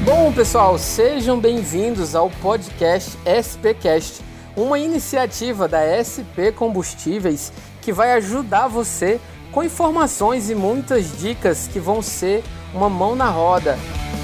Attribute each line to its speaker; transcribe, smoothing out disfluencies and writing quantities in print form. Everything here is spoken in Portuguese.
Speaker 1: Bom, pessoal, sejam bem-vindos ao podcast SPcast, uma iniciativa da SP Combustíveis que vai ajudar você com informações e muitas dicas que vão ser uma mão na roda.